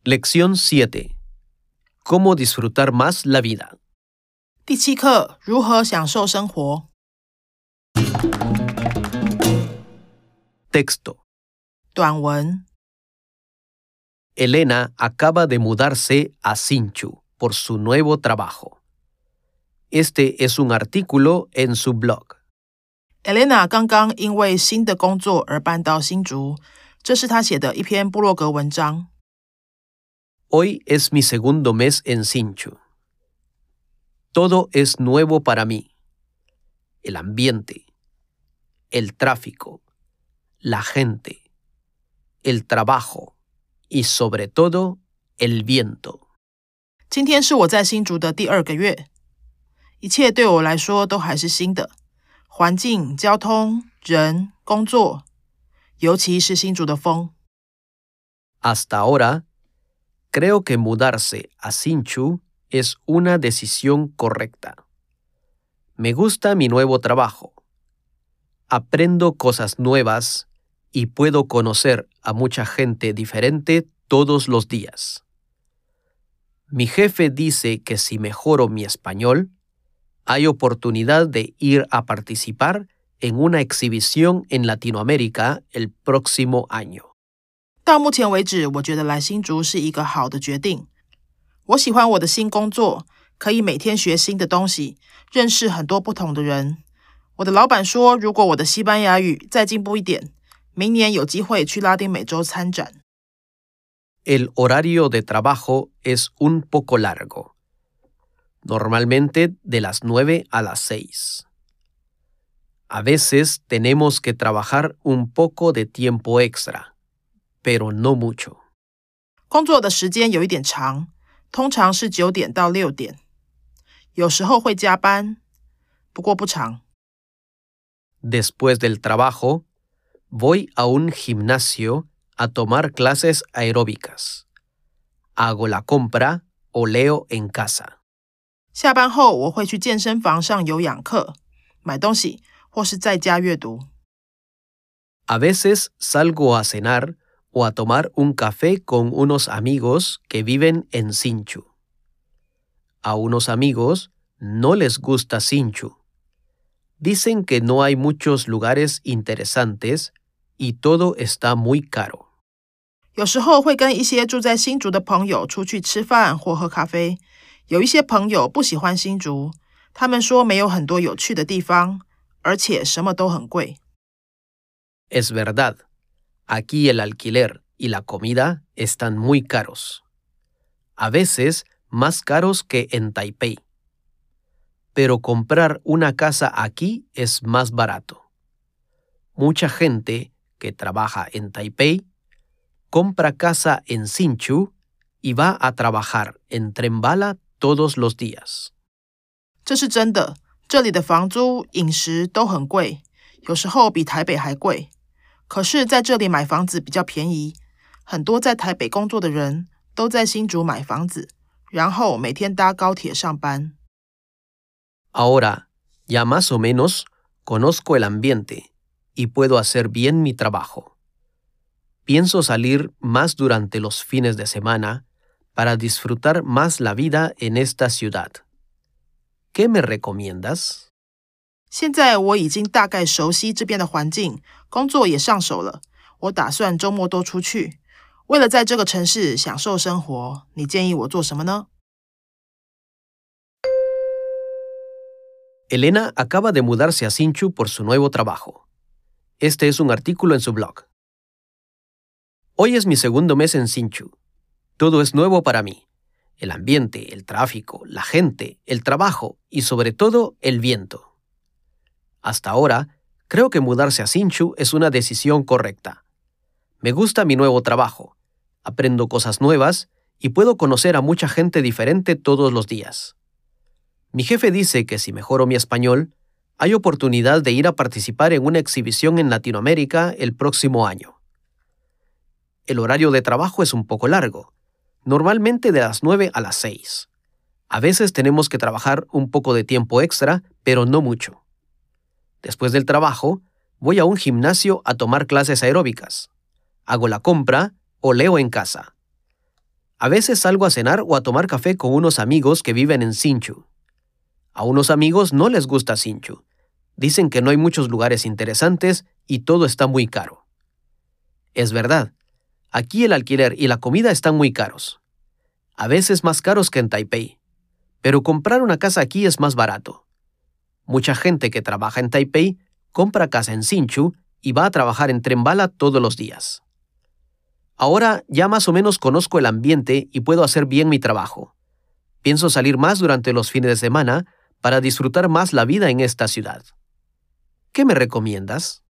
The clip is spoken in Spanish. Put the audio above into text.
Lección 7. ¿Cómo disfrutar más la vida? 第7课，如何享受生活。 Texto. 短文 Elena acaba de mudarse a Hsinchu por su nuevo trabajo. Este es un artículo en su blog. Elena 刚刚因为新的工作而搬到新竹，这是她写的一篇部落格文章。 Hoy es mi segundo mes en Hsinchu. Todo es nuevo para mí. El ambiente, el tráfico, la gente, el trabajo y sobre todo el viento. 今天是我在新竹的第2个月，一切对我来说都还是新的，环境、交通、人、工作，尤其是新竹的风。 Hasta ahora, creo que mudarse a Hsinchu es una decisión correcta. Me gusta mi nuevo trabajo. Aprendo cosas nuevas y puedo conocer a mucha gente diferente todos los días. Mi jefe dice que si mejoro mi español, hay oportunidad de ir a participar en una exhibición en Latinoamérica el próximo año. 到目前为止，我觉得来新竹是一个好的决定。我喜欢我的新工作，可以每天学新的东西，认识很多不同的人。我的老板说，如果我的西班牙语再进步一点，明年有机会去拉丁美洲参展。 El horario de trabajo es un poco largo, normalmente de las 9 a las 6. A veces tenemos que trabajar un poco de tiempo extra, pero no mucho. 工作的时间有一点长，通常是9点到6点，有时候会加班，不过不长。 Después del trabajo, voy a un gimnasio a tomar clases aeróbicas. Hago la compra o leo en casa. 下班后，我会去健身房上有氧课，买东西，或是在家阅读。 A veces salgo a cenar o a tomar un café con unos amigos que viven en Hsinchu. A unos amigos no les gusta Hsinchu. Dicen que no hay muchos lugares interesantes y todo está muy caro. 有时候会跟一些住在新竹的朋友出去吃饭或喝咖啡。有一些朋友不喜欢新竹，他们说没有很多有趣的地方，而且什么都很贵。 Es verdad, aquí el alquiler y la comida están muy caros. A veces más caros que en Taipei. Pero comprar una casa aquí es más barato. Mucha gente que trabaja en Taipei compra casa en Hsinchu y va a trabajar en tren bala todos los días. 这是真的，这里的房租、饮食都很贵，有时候比台北还贵。可是在这里买房子比较便宜，很多在台北工作的人都在新竹买房子，然后每天搭高铁上班。 Ahora, ya más o menos, conozco el ambiente y puedo hacer bien mi trabajo. Pienso salir más durante los fines de semana para disfrutar más la vida en esta ciudad. ¿Qué me recomiendas? 现在我已经大概熟悉这边的环境，工作也上手了。我打算周末多出去，为了在这个城市享受生活，你建议我做什么呢？ Elena acaba de mudarse a Hsinchu por su nuevo trabajo. Este es un artículo en su blog. Hoy es mi segundo mes en Hsinchu. Todo es nuevo para mí. El ambiente, el tráfico, la gente, el trabajo y sobre todo el viento. Hasta ahora, creo que mudarse a Hsinchu es una decisión correcta. Me gusta mi nuevo trabajo. Aprendo cosas nuevas y puedo conocer a mucha gente diferente todos los días. Mi jefe dice que si mejoro mi español, hay oportunidad de ir a participar en una exhibición en Latinoamérica el próximo año. El horario de trabajo es un poco largo, normalmente de las 9 a las 6. A veces tenemos que trabajar un poco de tiempo extra, pero no mucho. Después del trabajo, voy a un gimnasio a tomar clases aeróbicas. Hago la compra o leo en casa. A veces salgo a cenar o a tomar café con unos amigos que viven en Hsinchu. A unos amigos no les gusta Hsinchu. Dicen que no hay muchos lugares interesantes y todo está muy caro. Es verdad. Aquí el alquiler y la comida están muy caros. A veces más caros que en Taipei. Pero comprar una casa aquí es más barato. Mucha gente que trabaja en Taipei compra casa en Hsinchu y va a trabajar en tren bala todos los días. Ahora ya más o menos conozco el ambiente y puedo hacer bien mi trabajo. Pienso salir más durante los fines de semana para disfrutar más la vida en esta ciudad. ¿Qué me recomiendas?